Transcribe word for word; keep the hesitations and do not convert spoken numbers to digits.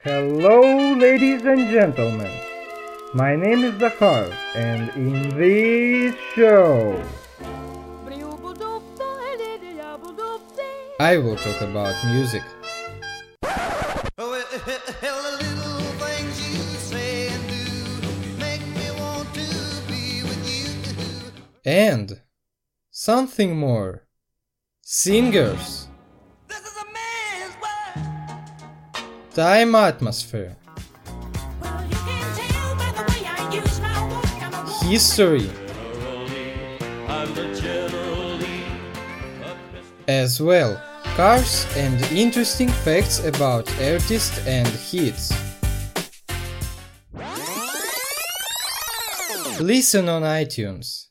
Hello, ladies and gentlemen. My name is Zakhar, and in this show, I will talk about music. And something more. Singers. Time atmosphere. History. As well, cars and interesting facts about artists and hits. Listen on iTunes.